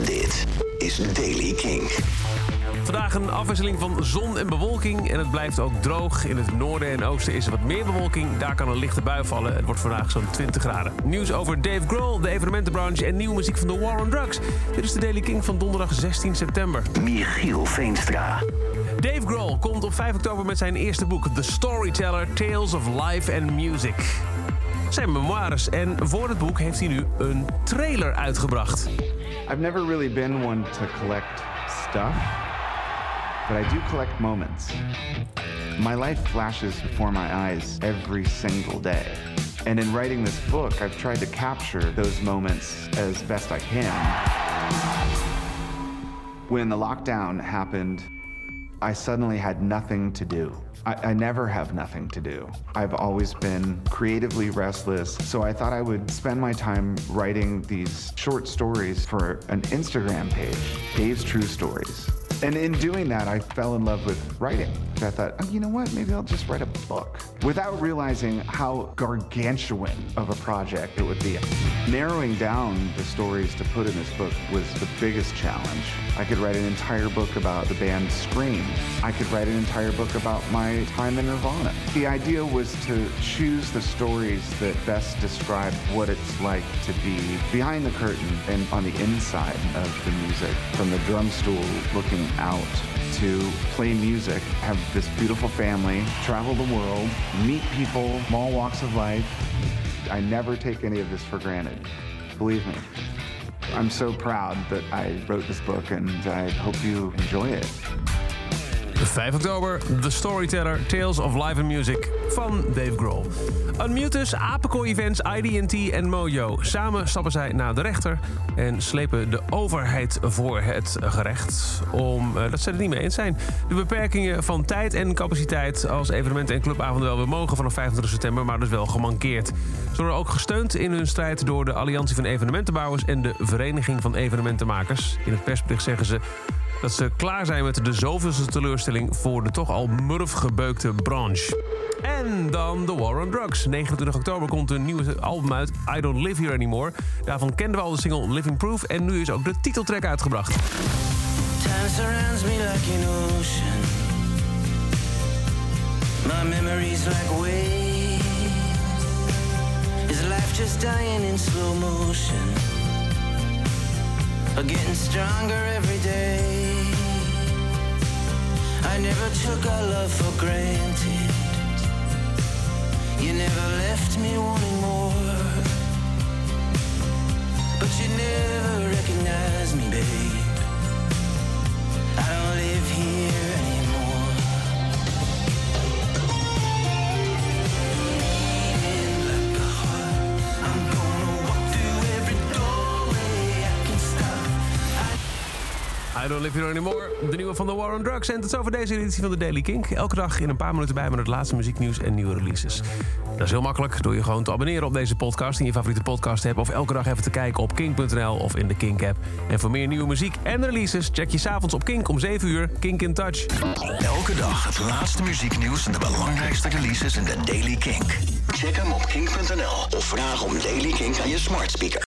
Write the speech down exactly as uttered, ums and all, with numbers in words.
Dit is Daily King. Vandaag een afwisseling van zon en bewolking en het blijft ook droog. In het noorden en oosten is er wat meer bewolking. Daar kan een lichte bui vallen. Het wordt vandaag zo'n twintig graden. Nieuws over Dave Grohl, de evenementenbranche en nieuwe muziek van The War on Drugs. Dit is de Daily King van donderdag zestien september. Michiel Veenstra. Dave Grohl komt op vijf oktober met zijn eerste boek The Storyteller, Tales of Life and Music. Zijn memoires en voor het boek heeft hij nu een trailer uitgebracht. I've never really been one to collect stuff, but I do collect moments. My life flashes before my eyes every single day. And in writing this book, I've tried to capture those moments as best I can. When the lockdown happened, I suddenly had nothing to do. I, I never have nothing to do. I've always been creatively restless, so I thought I would spend my time writing these short stories for an Instagram page, Dave's True Stories. And in doing that, I fell in love with writing. I thought, oh, you know what, maybe I'll just write a book. Without realizing how gargantuan of a project it would be. Narrowing down the stories to put in this book was the biggest challenge. I could write an entire book about the band Scream. I could write an entire book about my time in Nirvana. The idea was to choose the stories that best describe what it's like to be behind the curtain and on the inside of the music, from the drum stool looking out to play music, have this beautiful family, travel the world, meet people, from all walks of life. I never take any of this for granted. Believe me. I'm so proud that I wrote this book and I hope you enjoy it. vijf oktober, The Storyteller, Tales of Life and Music van Dave Grohl. Unmutus, Apenkooi Events, I D en T en Mojo. Samen stappen zij naar de rechter en slepen de overheid voor het gerecht. Omdat ze het niet mee eens zijn. De beperkingen van tijd en capaciteit als evenementen en clubavonden wel weer mogen vanaf vijfentwintig september, maar dus wel gemankeerd. Ze worden ook gesteund in hun strijd door de Alliantie van Evenementenbouwers en de Vereniging van Evenementenmakers. In het persbericht zeggen ze dat ze klaar zijn met de zoveelste teleurstelling voor de toch al murf gebeukte branche. En dan The War on Drugs. negenentwintig oktober komt een nieuwe album uit, I Don't Live Here Anymore. Daarvan kenden we al de single Living Proof en nu is ook de titeltrack uitgebracht. Time surrounds me like an ocean. My memories like waves. Is life just dying in slow motion? Or getting stronger every day? I never took our love for granted. You never left me wanting more. But you never recognized me, babe. I don't live here anymore. Beating like a heart, I'm gonna walk through every doorway I can stop. I Don't Live Here Anymore, de nieuwe van The War on Drugs. En tot zover deze editie van de Daily Kink. Elke dag in een paar minuten bij met het laatste muzieknieuws en nieuwe releases. Dat is heel makkelijk door je gewoon te abonneren op deze podcast in je favoriete podcast app, of elke dag even te kijken op kink punt n l of in de Kink app. En voor meer nieuwe muziek en releases check je 's avonds op Kink om zeven uur Kink in Touch. Elke dag het laatste muzieknieuws en de belangrijkste releases in de Daily Kink. Check hem op kink punt n l of vraag om Daily Kink aan je smart speaker.